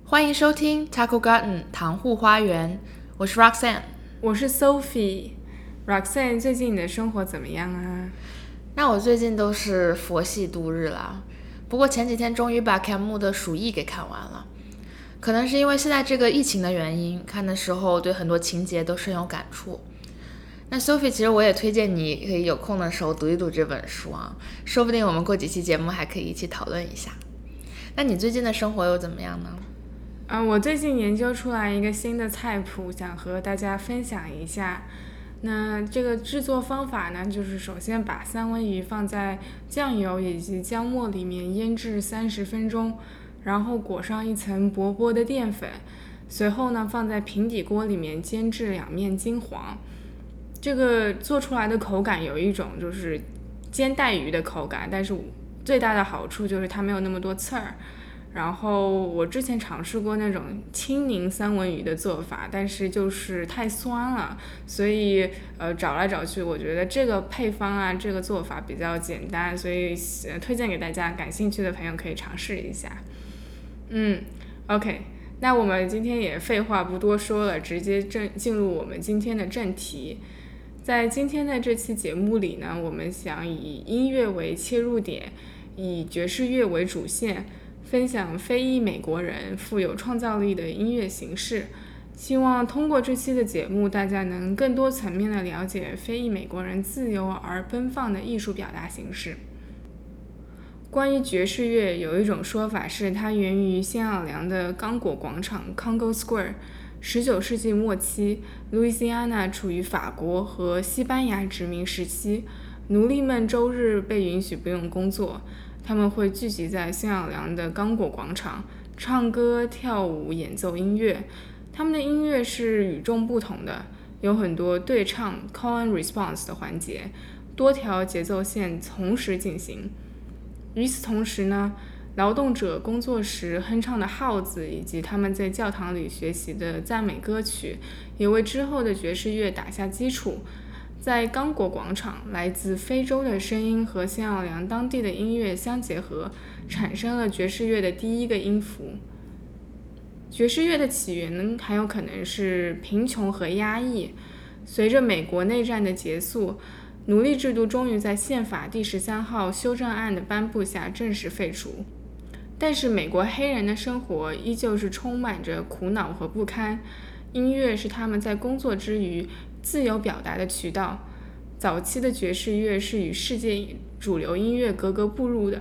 欢迎收听 Taco Garden 糖户花园，我是 Roxanne， 我是 Sophie。Roxanne， 最近你的生活怎么样啊？ 那我最近都是佛系度日啦，不过前几天终于把凯姆的《鼠疫》给看完了。可能是因为现在这个疫情的原因，看的时候对很多情节都深有感触。那 Sophie， 其实我也推荐你可以有空的时候读一读这本书啊，说不定我们过几期节目还可以一起讨论一下。那你最近的生活又怎么样呢？ 我最近研究出来一个新的菜谱，想和大家分享一下。那这个制作方法呢，就是首先把三文鱼放在酱油以及姜末里面腌制30分钟，然后裹上一层薄薄的淀粉，随后呢放在平底锅里面煎至两面金黄。这个做出来的口感有一种就是煎带鱼的口感，但是最大的好处就是它没有那么多刺儿。然后我之前尝试过那种清凝三文鱼的做法，但是就是太酸了，所以找来找去，我觉得这个配方啊，这个做法比较简单，所以推荐给大家，感兴趣的朋友可以尝试一下。OK， 那我们今天也废话不多说了，直接进入我们今天的正题。在今天的这期节目里呢，我们想以音乐为切入点，以爵士乐为主线，分享非裔美国人富有创造力的音乐形式，希望通过这期的节目，大家能更多层面的了解非裔美国人自由而奔放的艺术表达形式。关于爵士乐，有一种说法是它源于新奥尔良的刚果广场 Congo Square。19世纪末期，路易斯安那处于法国和西班牙殖民时期，奴隶们周日被允许不用工作，他们会聚集在新奥尔良的刚果广场，唱歌、跳舞、演奏音乐。他们的音乐是与众不同的，有很多对唱 call and response 的环节，多条节奏线同时进行。与此同时呢，劳动者工作时哼唱的号子以及他们在教堂里学习的赞美歌曲，也为之后的爵士乐打下基础。在刚果广场，来自非洲的声音和新奥尔良当地的音乐相结合，产生了爵士乐的第一个音符。爵士乐的起源还有可能是贫穷和压抑。随着美国内战的结束，奴隶制度终于在宪法第13号修正案的颁布下正式废除。但是美国黑人的生活依旧是充满着苦恼和不堪，音乐是他们在工作之余自由表达的渠道。早期的爵士乐是与世界主流音乐格格不入的。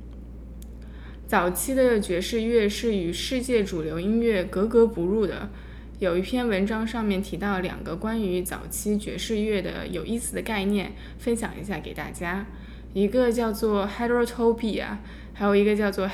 有一篇文章上面提到2个关于早期爵士乐的有意思的概念，分享一下给大家。一个叫做 Heterotopia， 还有一个叫做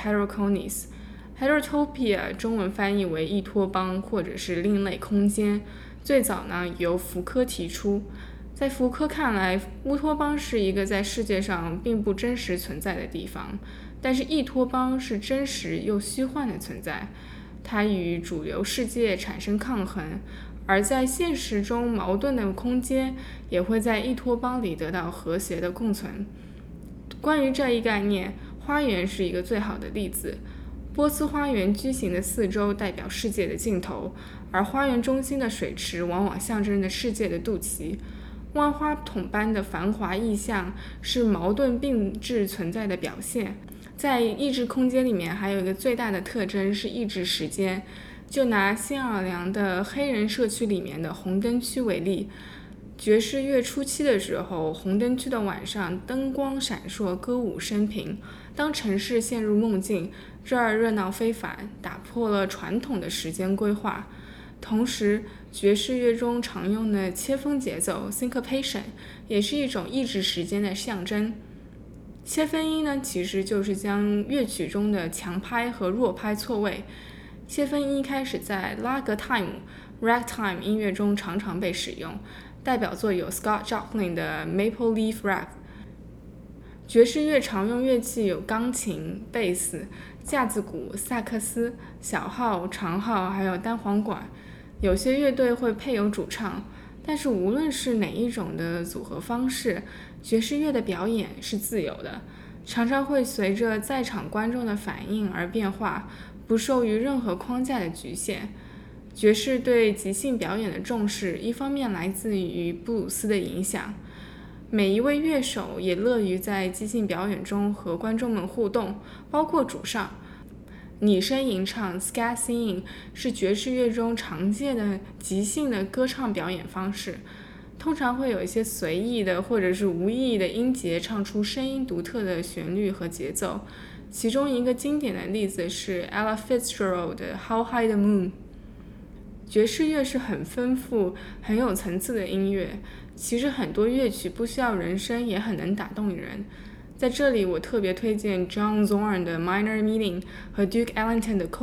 Heteroconis。Heterotopia 中文翻译为异托邦或者是另类空间，最早呢由福柯提出。在福柯看来，乌托邦是一个在世界上并不真实存在的地方，但是异托邦是真实又虚幻的存在，它与主流世界产生抗衡，而在现实中矛盾的空间也会在异托邦里得到和谐的共存。关于这一概念，花园是一个最好的例子。波斯花园矩形的四周代表世界的尽头，而花园中心的水池往往象征着世界的肚脐。万花筒般的繁华意象是矛盾并置存在的表现。在意志空间里面还有一个最大的特征是意志时间。就拿新奥尔良的黑人社区里面的红灯区为例，爵士乐初期的时候，红灯区的晚上灯光闪烁，歌舞升平。当城市陷入梦境，这儿热闹非凡，打破了传统的时间规划。同时，爵士乐中常用的切分节奏 syncopation 也是一种意志时间的象征。切分音呢，其实就是将乐曲中的强拍和弱拍错位。切分音一开始在拉格 time、ragtime 音乐中常常被使用，代表作有 Scott Joplin 的 Maple Leaf Rag。爵士乐常用乐器有钢琴、贝斯、架子鼓、萨克斯、小号、长号，还有单簧管。有些乐队会配有主唱，但是无论是哪一种的组合方式，爵士乐的表演是自由的，常常会随着在场观众的反应而变化， 不受于任何框架的局限。爵士对即兴表演的重视，一方面来自于布鲁斯的影响，每一位乐手也乐于在即兴表演中和观众们互动，包括主唱。拟声吟唱 Scat Singing 是爵士乐中常见的即兴的歌唱表演方式，通常会有一些随意的或者是无意义的音节唱出声音独特的旋律和节奏。其中一个经典的例子是 Ella Fitzgerald 的 How High the Moon。 爵士乐是很丰富很有层次的音乐，其实很多乐曲不需要人声也很能打动人。在这里我特别推荐 John Zorn 的 Minor Meaning 和 Duke Ellington 的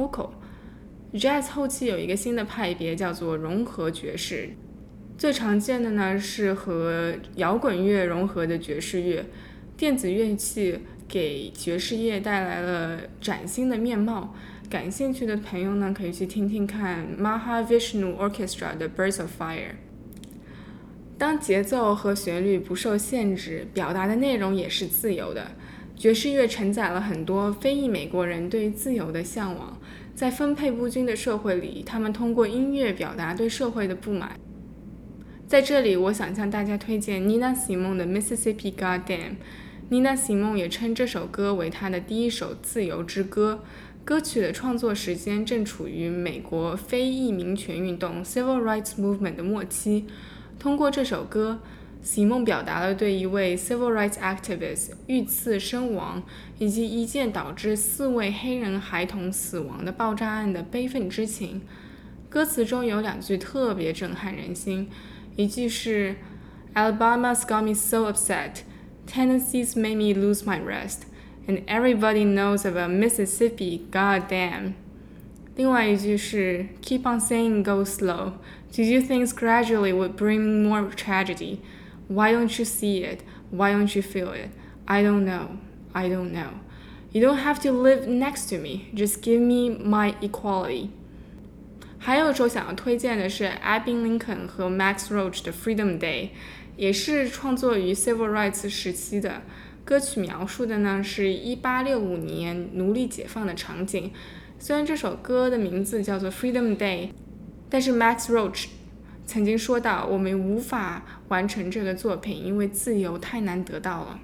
Coco。Jazz 后期有一个新的派别叫做融合爵士，最常见的呢是和摇滚乐融合的爵士乐，电子乐器给爵士乐带来了崭新的面貌。感兴趣的朋友呢可以去听听看 Mahavishnu Orchestra 的 Birds of Fire。当节奏和旋律不受限制，表达的内容也是自由的。爵士乐承载了很多非裔美国人对自由的向往，在分配不均的社会里，他们通过音乐表达对社会的不满。在这里，我想向大家推荐 Nina Simone 的 Mississippi Goddam。Nina Simone 也称这首歌为她的第一首自由之歌。歌曲的创作时间正处于美国非裔民权运动 Civil Rights Movement 的末期。通过这首歌，席梦表达了对一位 Civil Rights Activist 遇刺身亡以及一件导致4位黑人孩童死亡的爆炸案的悲愤之情。歌词中有2句特别震撼人心，一句是 Alabama's got me so upset, Tennessee's made me lose my rest, and everybody knows about Mississippi, goddamn。 另外一句是 Keep on saying go slow, to do things gradually would bring more tragedy. Why don't you see it? Why don't you feel it? I don't know. I don't know. You don't have to live next to me. Just give me my equality. 还有一首想要推荐的是 Abbie Lincoln 和 Max Roach 的 Freedom Day， 也是创作于 Civil Rights 时期的。歌曲描述的呢是1865年奴隶解放的场景。虽然这首歌的名字叫做 Freedom Day， 但是 Max Roach 曾经说到，我们无法完成这个作品，因为自由太难得到了。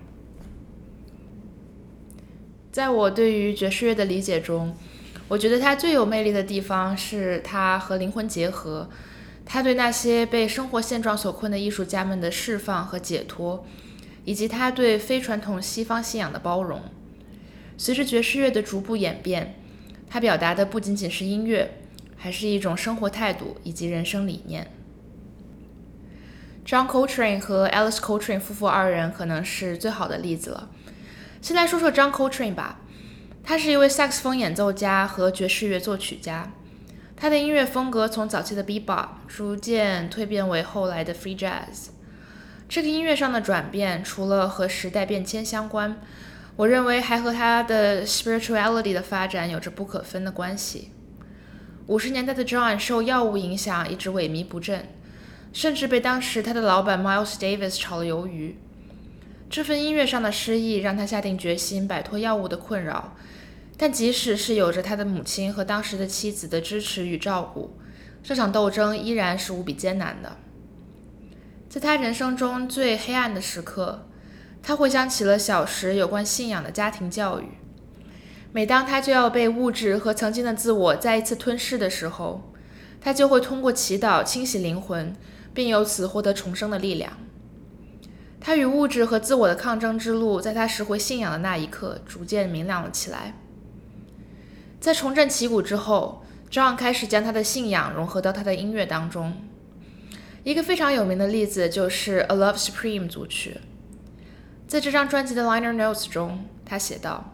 在我对于爵士乐的理解中，我觉得它最有魅力的地方是它和灵魂结合，它对那些被生活现状所困的艺术家们的释放和解脱，以及它对非传统西方信仰的包容。随着爵士乐的逐步演变，它表达的不仅仅是音乐，还是一种生活态度以及人生理念。John Coltrane 和 Alice Coltrane 夫妇2人可能是最好的例子了。先来说说 John Coltrane 吧，他是一位萨克斯风演奏家和爵士乐作曲家。他的音乐风格从早期的 bebop 逐渐蜕变为后来的 free jazz。这个音乐上的转变，除了和时代变迁相关，我认为还和他的 spirituality 的发展有着不可分的关系。50年代的 John 受药物影响一直萎靡不振，甚至被当时他的老板 Miles Davis 炒了鱿鱼。这份音乐上的失意让他下定决心摆脱药物的困扰，但即使是有着他的母亲和当时的妻子的支持与照顾，这场斗争依然是无比艰难的。在他人生中最黑暗的时刻，他回想起了小时有关信仰的家庭教育。每当他就要被物质和曾经的自我再一次吞噬的时候，他就会通过祈祷清洗灵魂，并由此获得重生的力量。他与物质和自我的抗争之路，在他拾回信仰的那一刻逐渐明亮了起来。在重振旗鼓之后， John 开始将他的信仰融合到他的音乐当中。一个非常有名的例子就是 A Love Supreme 组曲。在这张专辑的 liner notes 中，他写道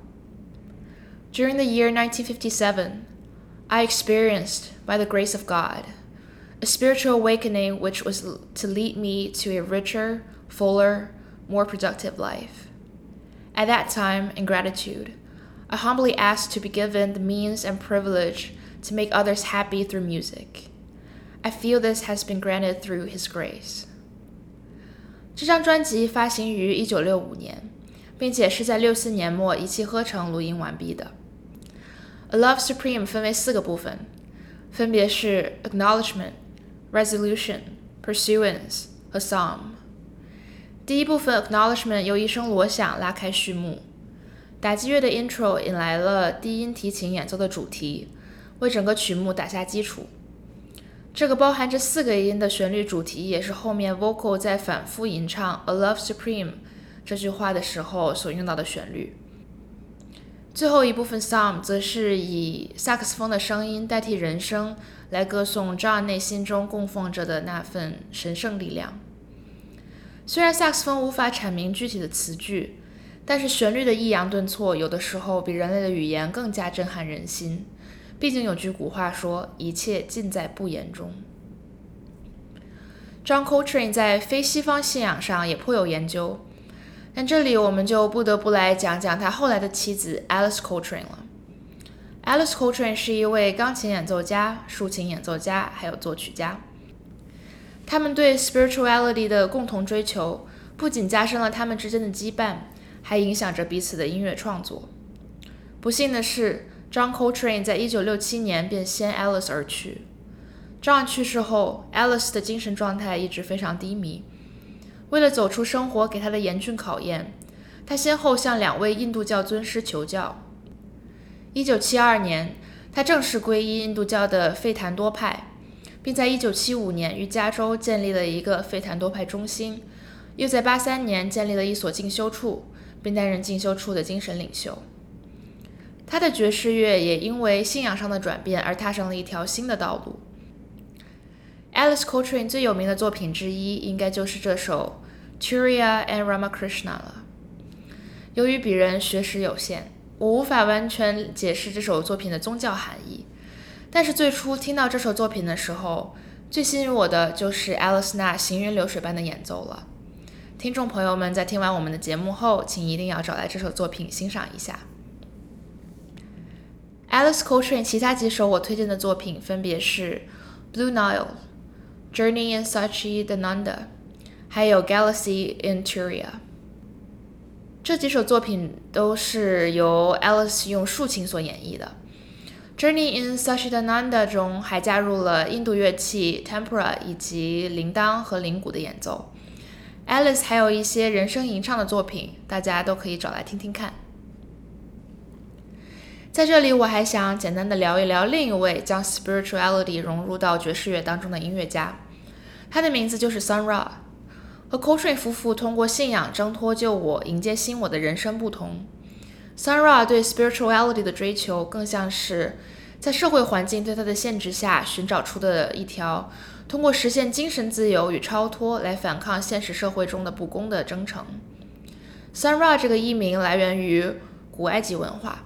During the year 1957, I experienced, by the grace of God, a spiritual awakening which was to lead me to a richer, fuller, more productive life. At that time, in gratitude, I humbly asked to be given the means and privilege to make others happy through music. I feel this has been granted through His grace. 这张专辑发行于1965年，并且是在64年末一气呵成录音完毕的。 A Love Supreme 分为4个部分，分别是 Acknowledgement、Resolution、Pursuance 和 Psalm。第一部分 Acknowledgement 由一声锣响拉开序幕，打击乐的 intro 引来了低音提琴演奏的主题，为整个曲目打下基础。这个包含着4个音的旋律主题也是后面 vocal 在反复吟唱 A Love Supreme 这句话的时候所用到的旋律。最后一部分 Psalm 则是以萨克斯风的声音代替人声，来歌颂 John 内心中供奉着的那份神圣力量。虽然萨克斯风无法阐明具体的词句，但是旋律的抑扬顿挫有的时候比人类的语言更加震撼人心。毕竟有句古话说，一切尽在不言中。John Coltrane 在非西方信仰上也颇有研究，但这里我们就不得不来讲讲他后来的妻子 Alice Coltrane 了。Alice Coltrane 是一位钢琴演奏家、竖琴演奏家，还有作曲家。他们对 spirituality 的共同追求，不仅加深了他们之间的羁绊，还影响着彼此的音乐创作。不幸的是，John Coltrane 在1967年便先 Alice 而去。John 去世后 ，Alice 的精神状态一直非常低迷。为了走出生活给他的严峻考验，他先后向2位印度教尊师求教。1972年，他正式皈依印度教的费檀多派，并在1975年于加州建立了一个费檀多派中心，又在83年建立了一所进修处，并担任进修处的精神领袖。他的爵士乐也因为信仰上的转变而踏上了一条新的道路。Alice Coltrane 最有名的作品之一，应该就是这首 Turiya and Ramakrishna 了。由于鄙人学识有限，我无法完全解释这首作品的宗教含义，但是最初听到这首作品的时候，最吸引我的就是 Alice 那行云流水般的演奏了。听众朋友们在听完我们的节目后，请一定要找来这首作品欣赏一下。Alice Coltrane 其他几首我推荐的作品分别是 Blue Nile、Journey in Satchidananda 还有 Galaxy in Turiya。这几首作品都是由 Alice 用竖琴所演绎的。Journey in Satchidananda 中还加入了印度乐器 Tempura 以及铃铛和铃鼓的演奏。Alice 还有一些人声吟唱的作品，大家都可以找来听听看。在这里我还想简单的聊一聊另一位将 spirituality 融入到爵士乐当中的音乐家，他的名字就是 Sun Ra。和 Coltrane 夫妇通过信仰挣脱旧我，迎接新我的人生不同， Sun Ra 对 spirituality 的追求更像是在社会环境对他的限制下寻找出的一条通过实现精神自由与超脱来反抗现实社会中的不公的征程。 Sun Ra 这个译名来源于古埃及文化，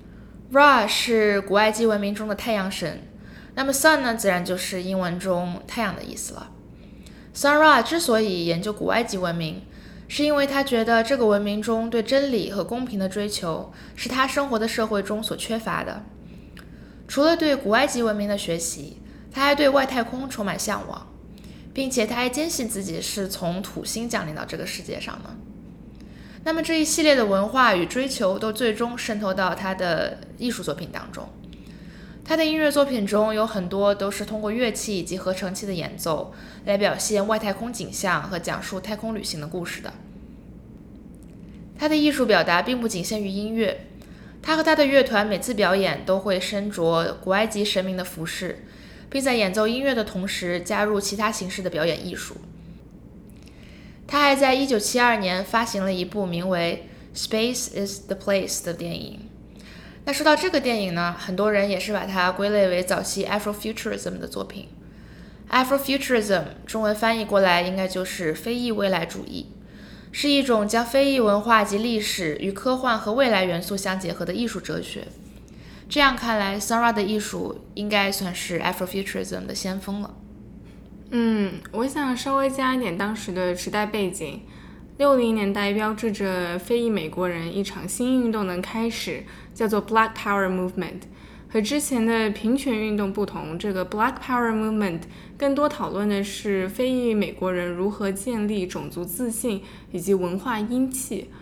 Ra 是古埃及文明中的太阳神，那么 Sun 呢，自然就是英文中太阳的意思了。Sun Ra 之所以研究古埃及文明，是因为他觉得这个文明中对真理和公平的追求是他生活的社会中所缺乏的。除了对古埃及文明的学习，他还对外太空充满向往，并且他还坚信自己是从土星降临到这个世界上的。那么这一系列的文化与追求都最终渗透到他的艺术作品当中。他的音乐作品中有很多都是通过乐器以及合成器的演奏来表现外太空景象和讲述太空旅行的故事的。他的艺术表达并不仅限于音乐，他和他的乐团每次表演都会身着古埃及神明的服饰，并在演奏音乐的同时加入其他形式的表演艺术。他还在1972年发行了一部名为 Space is the Place 的电影。那说到这个电影呢，很多人也是把它归类为早期 Afrofuturism 的作品。Afrofuturism 中文翻译过来应该就是非裔未来主义，是一种将非裔文化及历史与科幻和未来元素相结合的艺术哲学。这样看来 Sun Ra 的艺术应该算是 Afrofuturism 的先锋了。 我想稍微加一点当时的时代背景。60年代标志着非裔美国人一场新运动的开始，叫做 Black Power Movement。 和之前的平权运动不同，这个 Black Power Movement 更多讨论的是非裔美国人如何建立种族自信以及文化英气。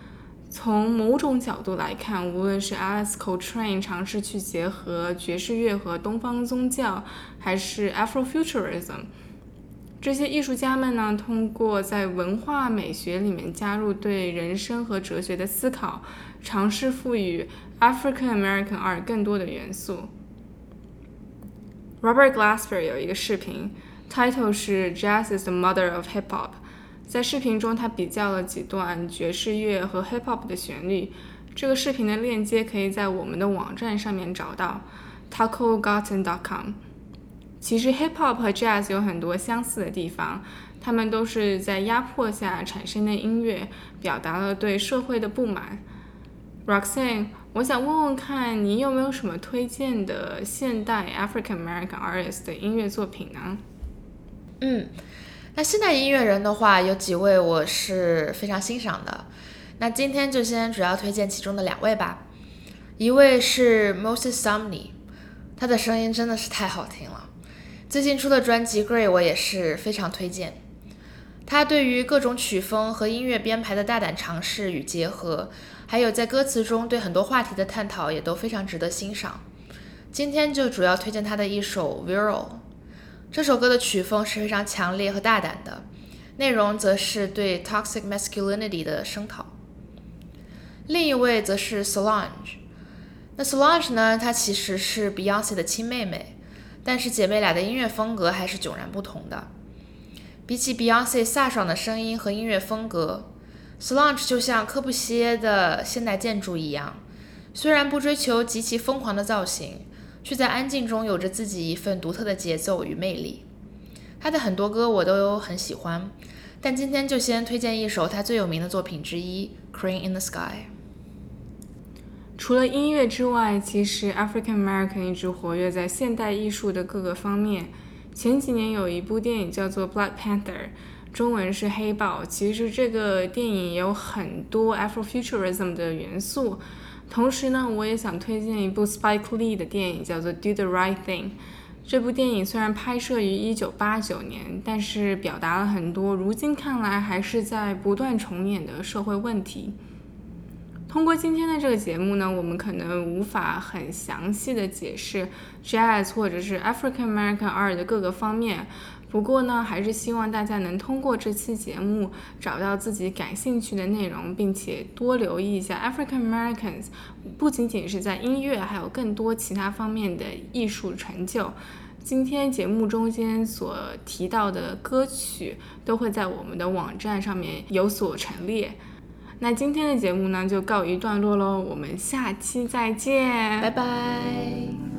从某种角度来看，无论是 Alex Coltrane 尝试去结合爵士乐和东方宗教，还是 Afrofuturism， 这些艺术家们呢，通过在文化美学里面加入对人生和哲学的思考，尝试赋予 African American art 更多的元素。Robert Glasper 有一个视频 ，title 是 Jazz is the mother of hip hop。在视频中，他比较了几段爵士乐和 hip hop 的旋律。这个视频的链接可以在我们的网站上面找到 tacogarten.com。其实 hip hop 和 jazz 有很多相似的地方，他们都是在压迫下产生的音乐，表达了对社会的不满。Roxanne， 我想问问看，你有没有什么推荐的现代 African American artist 的音乐作品呢？ 那现代音乐人的话，有几位我是非常欣赏的。那今天就先主要推荐其中的2位吧。一位是 Moses Sumney， 他的声音真的是太好听了。最近出的专辑 Grey 我也是非常推荐。他对于各种曲风和音乐编排的大胆尝试与结合，还有在歌词中对很多话题的探讨也都非常值得欣赏。今天就主要推荐他的一首 Viral。这首歌的曲风是非常强烈和大胆的，内容则是对 toxic masculinity 的声讨。另一位则是 Solange。那 Solange 呢，她其实是 Beyoncé 的亲妹妹，但是姐妹俩的音乐风格还是迥然不同的。比起 Beyoncé 飒爽的声音和音乐风格， Solange 就像柯布西耶的现代建筑一样，虽然不追求极其疯狂的造型，却在安静中有着自己一份独特的节奏与魅力。他的很多歌我都很喜欢，但今天就先推荐一首他最有名的作品之一 Crane in the Sky。 除了音乐之外，其实 African American 一直活跃在现代艺术的各个方面。前几年有一部电影叫做 Black Panther， 中文是黑豹，其实这个电影也有很多 Afrofuturism 的元素。同时呢，我也想推荐一部 Spike Lee 的电影，叫做 Do the Right Thing。这部电影虽然拍摄于1989年，但是表达了很多如今看来还是在不断重演的社会问题。通过今天的这个节目呢，我们可能无法很详细的解释 Jazz 或者是 African American art 的各个方面，不过呢，还是希望大家能通过这期节目找到自己感兴趣的内容，并且多留意一下 African Americans 不仅仅是在音乐，还有更多其他方面的艺术成就。今天节目中间所提到的歌曲都会在我们的网站上面有所陈列。那今天的节目呢，就告一段落咯，我们下期再见， 拜拜。